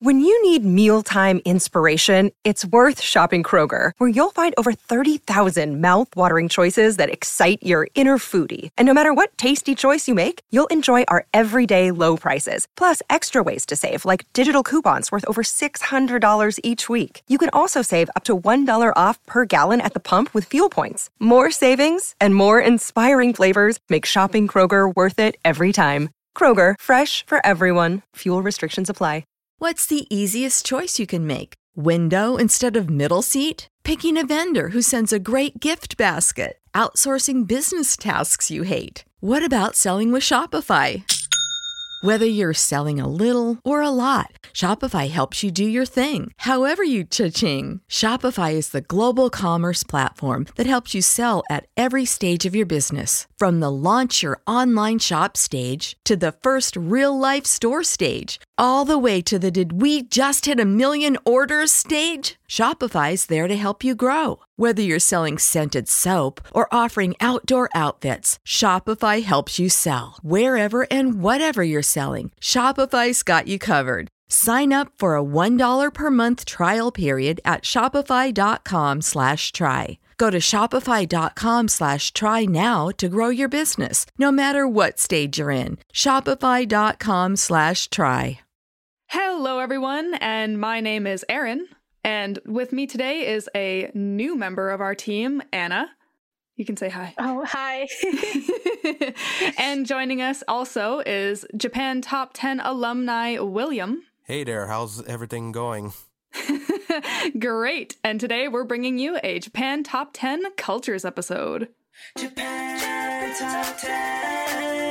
When you need mealtime inspiration, it's worth shopping Kroger, where you'll find over 30,000 mouth-watering choices that excite your inner foodie. And no matter what tasty choice you make, you'll enjoy our everyday low prices, plus extra ways to save, like digital coupons worth over $600 each week. You can also save up to $1 off per gallon at the pump with fuel points. More savings and more inspiring flavors make shopping Kroger worth it every time. Kroger, fresh for everyone. Fuel restrictions apply. What's the easiest choice you can make? Window instead of middle seat? Picking a vendor who sends a great gift basket? Outsourcing business tasks you hate? What about selling with Shopify? Whether you're selling a little or a lot, Shopify helps you do your thing, however you cha-ching. Shopify is the global commerce platform that helps you sell at every stage of your business. From the launch your online shop stage to the first real-life store stage, all the way to the did we just hit 1 million orders stage. Shopify's there to help you grow. Whether you're selling scented soap or offering outdoor outfits, Shopify helps you sell. Wherever and whatever you're selling, Shopify's got you covered. Sign up for a $1 per month trial period at shopify.com/try. Go to shopify.com/try now to grow your business, no matter what stage you're in. Shopify.com/try. Hello, everyone, and my name is Erin. And with me today is a new member of our team, Anna. You can say hi. Oh, hi. And joining us also is Japan Top 10 alumni, William. Hey there, how's everything going? Great. And today we're bringing you a Japan Top 10 Cultures episode. Japan Top 10.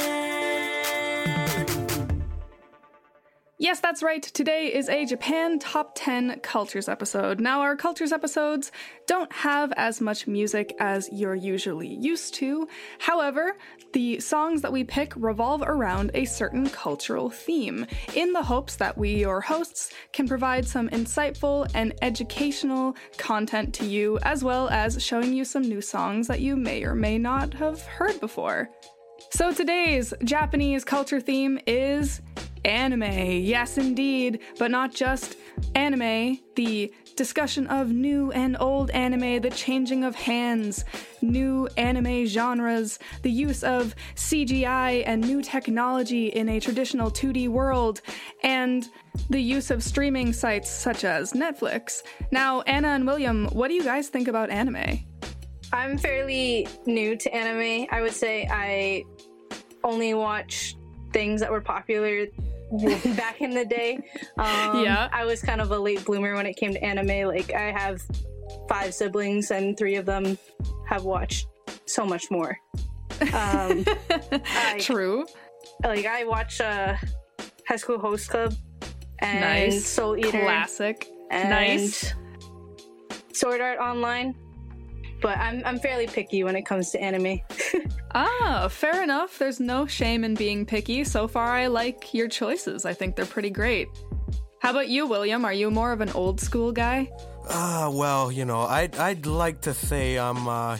Yes, that's right. Today is a Japan Top 10 Cultures episode. Now, our Cultures episodes don't have as much music as you're usually used to. However, the songs that we pick revolve around a certain cultural theme, in the hopes that we, your hosts, can provide some insightful and educational content to you, as well as showing you some new songs that you may or may not have heard before. So today's Japanese culture theme is anime. Yes, indeed, but not just anime. The discussion of new and old anime, the changing of hands, new anime genres, the use of CGI and new technology in a traditional 2D world, and the use of streaming sites such as Netflix. Now, Anna and William, what do you guys think about anime? I'm fairly new to anime. I would say I only watch things that were popular back in the day. Yeah. I was kind of a late bloomer when it came to anime. Like, I have 5 siblings and 3 of them have watched so much more. True. Like, I watch High School Host Club and Nice. Soul Eater. Classic. And Nice. Sword Art Online. But I'm fairly picky when it comes to anime. Ah, fair enough. There's no shame in being picky. So far, I like your choices. I think they're pretty great. How about you, William? Are you more of an old school guy? Well, I'd like to say I'm, a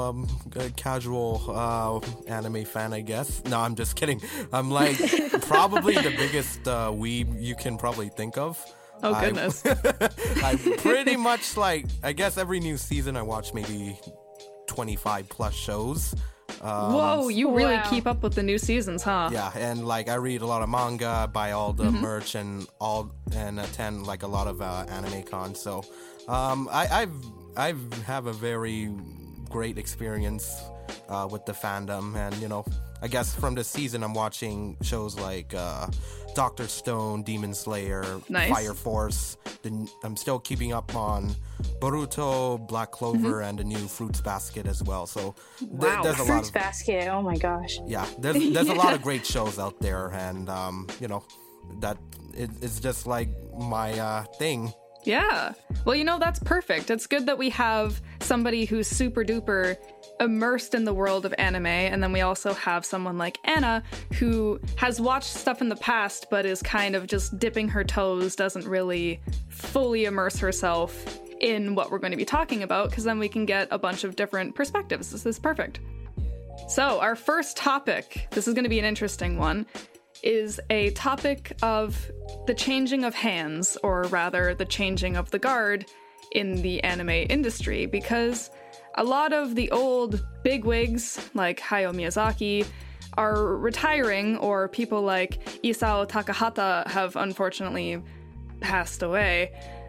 casual anime fan, I guess. No, I'm just kidding. I'm like probably the biggest weeb you can probably think of. Oh, goodness. I pretty much I guess every new season I watch maybe 25 plus shows. Whoa, you really Wow. keep up with the new seasons, huh? Yeah, and I read a lot of manga, buy all the merch and attend a lot of anime cons. So I have a very great experience with the fandom, and I guess from this season I'm watching shows like Dr. Stone, Demon Slayer, Nice. Fire Force. I'm still keeping up on Boruto, Black Clover, and the new Fruits Basket as well. So Wow. there's a lot Fruits of Basket, oh my gosh. yeah, there's a lot of great shows out there, and that it's just like my thing. Yeah. Well, that's perfect. It's good that we have somebody who's super duper immersed in the world of anime, and then we also have someone like Anna who has watched stuff in the past but is kind of just dipping her toes, doesn't really fully immerse herself in what we're going to be talking about, because then we can get a bunch of different perspectives. This is perfect. So, our first topic, this is going to be an interesting one. is a topic of the changing of hands, or rather the changing of the guard in the anime industry, because a lot of the old bigwigs like Hayao Miyazaki are retiring, or people like Isao Takahata have unfortunately passed away.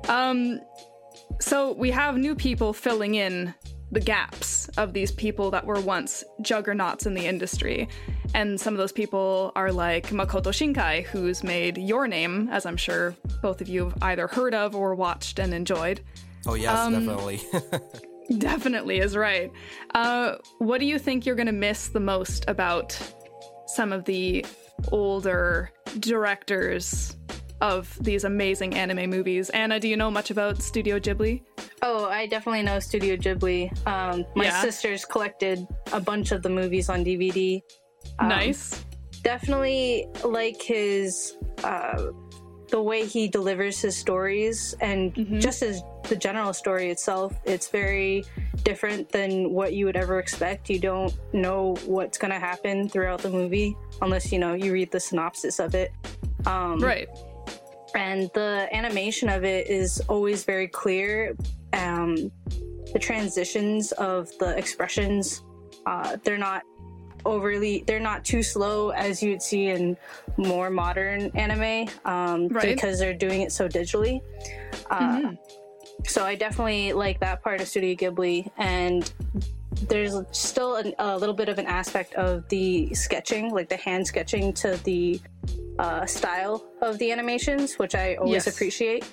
So we have new people filling in the gaps of these people that were once juggernauts in the industry. And some of those people are like Makoto Shinkai, who's made Your Name, as I'm sure both of you have either heard of or watched and enjoyed. Oh, yes, definitely. Definitely is right. What do you think you're going to miss the most about some of the older directors of these amazing anime movies? Anna, do you know much about Studio Ghibli? Oh, I definitely know Studio Ghibli. My sisters collected a bunch of the movies on DVD. Nice. Definitely like his, the way he delivers his stories, and just as the general story itself, it's very different than what you would ever expect. You don't know what's going to happen throughout the movie unless, you read the synopsis of it. Right. And the animation of it is always very clear. The transitions of the expressions, they're not too slow as you'd see in more modern anime, because they're doing it so digitally. So I definitely like that part of Studio Ghibli, and there's still a little bit of an aspect of the sketching, like the hand sketching to the style of the animations, which I always appreciate.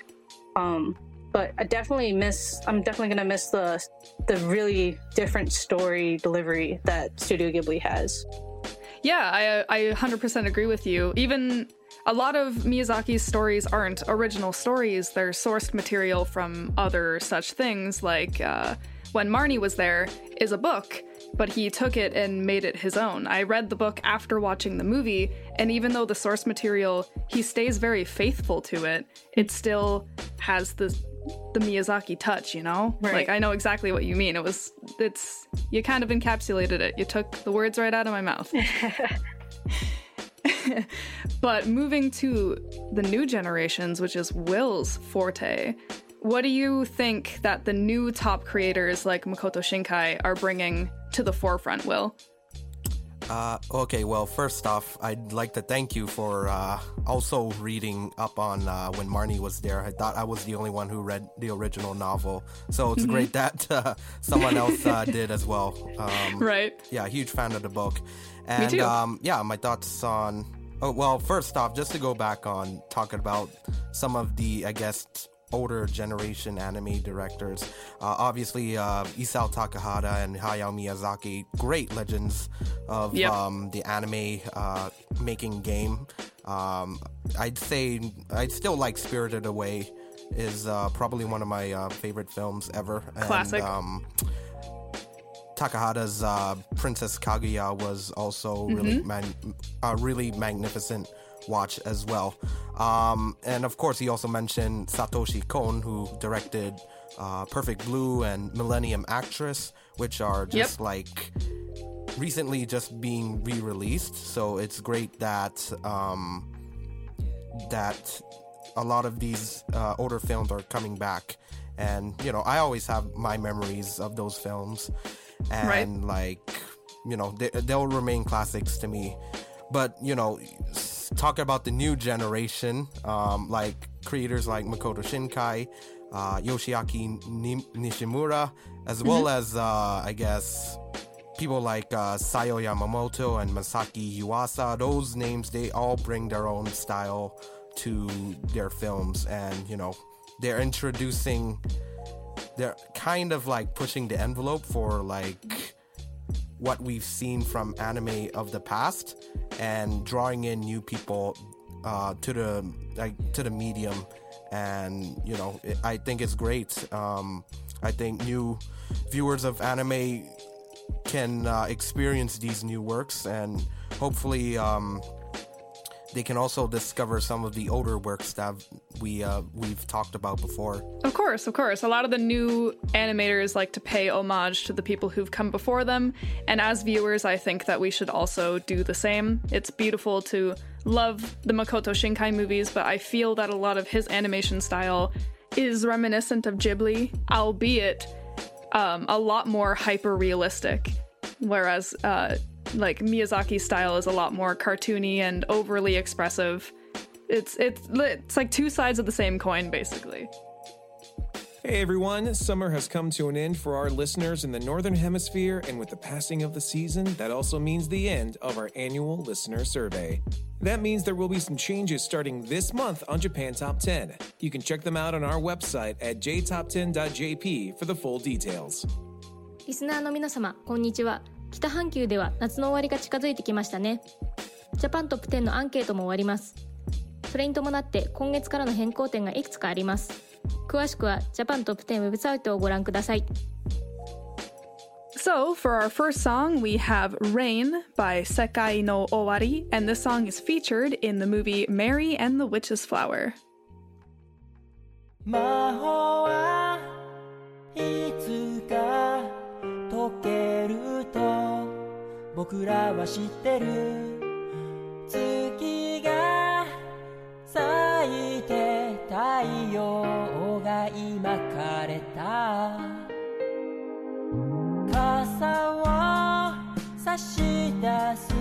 But I'm definitely gonna miss the really different story delivery that Studio Ghibli has. Yeah, I 100% agree with you. Even a lot of Miyazaki's stories aren't original stories. They're sourced material from other such things, like When Marnie Was There is a book, but he took it and made it his own. I read the book after watching the movie, and even though the source material, he stays very faithful to it, it still has the Miyazaki touch, Right. Like, I know exactly what you mean. You kind of encapsulated it. You took the words right out of my mouth. But moving to the new generations, which is Will's forte, what do you think that the new top creators like Makoto Shinkai are bringing to the forefront, Will? Okay, well, first off, I'd like to thank you for also reading up on When Marnie Was There. I thought I was the only one who read the original novel, so it's great that someone else did as well. Right. Yeah, huge fan of the book. And, Me too. My thoughts on... Oh, well, first off, just to go back on talking about some of the, I guess, older generation anime directors. Obviously, Isao Takahata and Hayao Miyazaki, great legends of the anime making game. I'd still like Spirited Away is probably one of my favorite films ever. Classic. And, Takahata's Princess Kaguya was also really magnificent watch as well. And of course, he also mentioned Satoshi Kon, who directed Perfect Blue and Millennium Actress, which are just recently just being re-released. So it's great that that a lot of these older films are coming back. And, I always have my memories of those films. And, they'll remain classics to me. But, talk about the new generation, like creators like Makoto Shinkai, Yoshiaki Nishimura, as well as, I guess, people like Sayo Yamamoto and Masaki Yuasa. Those names, they all bring their own style to their films. And, they're kind of like pushing the envelope for like what we've seen from anime of the past and drawing in new people to the medium. And I think it's great. I think new viewers of anime can experience these new works, and hopefully they can also discover some of the older works that we've talked about before. Of course. A lot of the new animators like to pay homage to the people who've come before them, and as viewers, I think that we should also do the same. It's beautiful to love the Makoto Shinkai movies, but I feel that a lot of his animation style is reminiscent of Ghibli, albeit a lot more hyper-realistic, whereas like Miyazaki's style is a lot more cartoony and overly expressive. It's like two sides of the same coin, basically. Hey everyone, summer has come to an end for our listeners in the Northern Hemisphere, and with the passing of the season, that also means the end of our annual listener survey. That means there will be some changes starting this month on Japan Top 10. You can check them out on our website at jtop10.jp for the full details. リスナーの皆様、こんにちは。北半球では夏の終わりが近づいてきましたね。ジャパントップ10のアンケートも終わります。それに伴って今月からの変更点がいくつかあります。詳しくはジャパントップ10ウェブサイトをご覧ください。 So, for our first song, we have Rain by Sekai no Owari, and this song is featured in the movie Mary and the Witch's Flower. 魔法はいつか解けると僕らは知ってる。月が咲いて太陽が今枯れた。傘を差し出す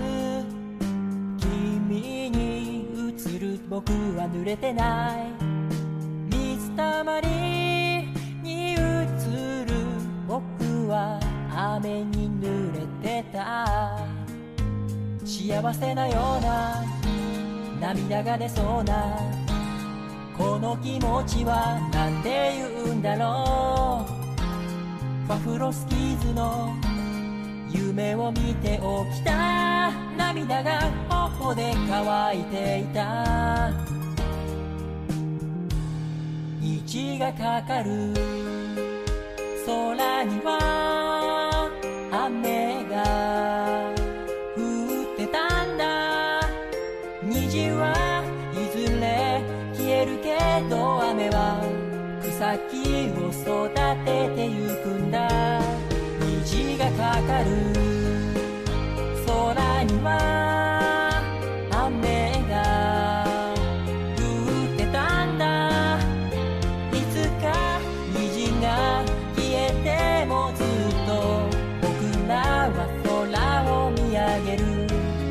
君に映る僕は濡れてない。水たまりに映る僕は雨に濡れてた。幸せなような涙が出そうなこの気持ちはなんて言うんだろう。バフロスキーズの夢を見て起きた。涙が頬で乾いていた。虹がかかる空には雨が降ってたんだ。虹はいずれ消えるけど雨は草木を育ててゆくんだ。虹がかかる空には雨が降ってたんだ。いつか虹が消えてもずっと僕らは空を見上げる。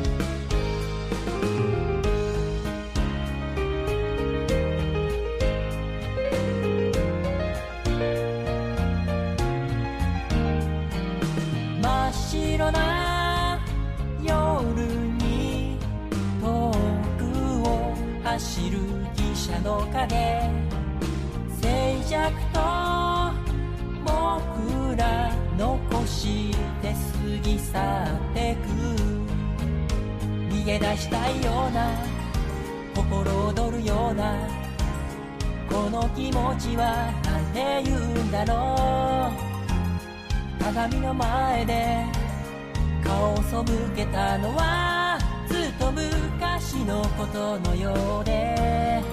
真っ白な夜に遠くを走る汽車の影。静寂と僕ら残して過ぎ去ってく。逃げ出したいような心躍るようなこの気持ちはなんて言うんだろう。鏡の前で顔を背けたのはずっと昔のことのようで。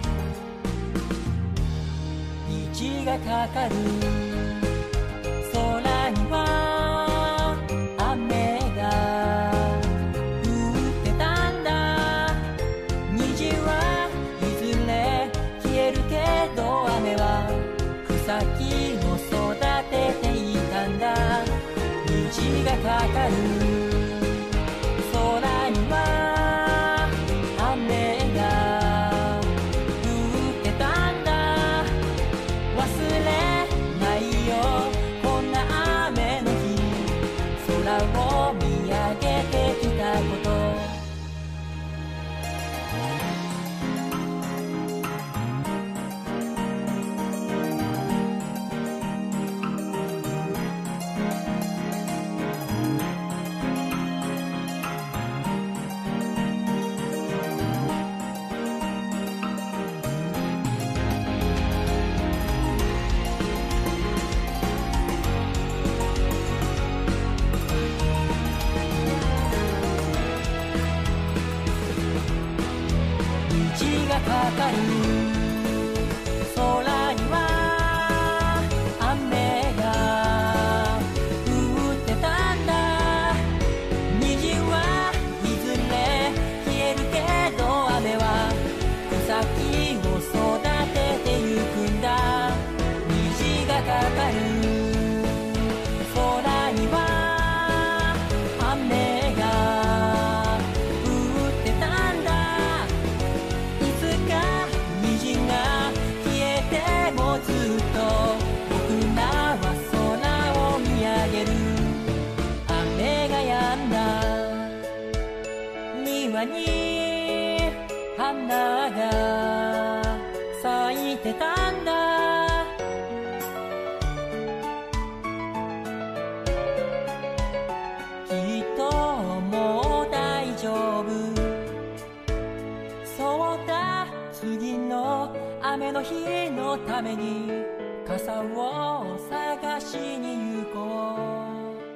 虹がかかる空には雨が降ってたんだ。虹はいずれ消えるけど雨は草木を育てていたんだ。虹がかかる空には雨が降ってたんだ。忘れないよこんな雨の日空を見上げてきたこと。 かる空には雨が降ってたんだ虹はいずれ消えるけど雨は草木を育ててゆくんだ虹がかかる空には雨が降ってたんだいつか虹が消えてもずっと僕らは空を見上げる雨が止んだ庭に花が咲いてたんだきっともう大丈夫そうだ次の雨の日のために傘を探しに行こう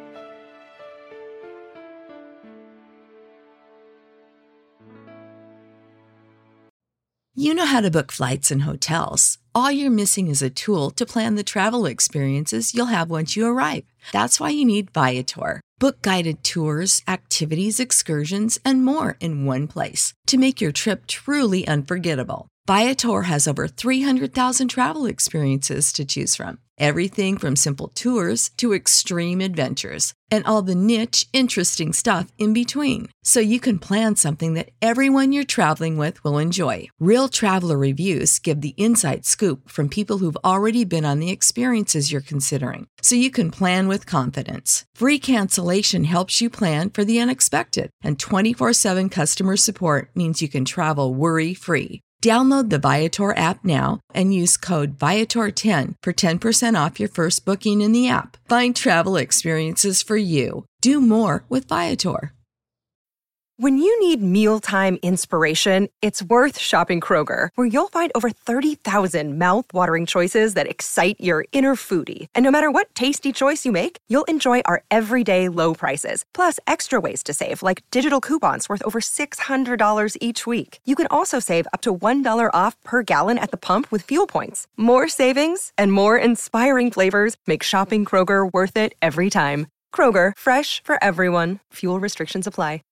You know how to book flights and hotels. All you're missing is a tool to plan the travel experiences you'll have once you arrive. That's why you need Viator. Book guided tours, activities, excursions, and more in one place to make your trip truly unforgettable. Viator has over 300,000 travel experiences to choose from. Everything from simple tours to extreme adventures and all the niche, interesting stuff in between. So you can plan something that everyone you're traveling with will enjoy. Real traveler reviews give the inside scoop from people who've already been on the experiences you're considering. So you can plan with confidence. Free cancellation helps you plan for the unexpected. And 24/7 customer support means you can travel worry-free. Download the Viator app now and use code Viator10 for 10% off your first booking in the app. Find travel experiences for you. Do more with Viator. When you need mealtime inspiration, it's worth shopping Kroger, where you'll find over 30,000 mouth-watering choices that excite your inner foodie. And no matter what tasty choice you make, you'll enjoy our everyday low prices, plus extra ways to save, like digital coupons worth over $600 each week. You can also save up to $1 off per gallon at the pump with fuel points. More savings and more inspiring flavors make shopping Kroger worth it every time. Kroger, fresh for everyone. Fuel restrictions apply.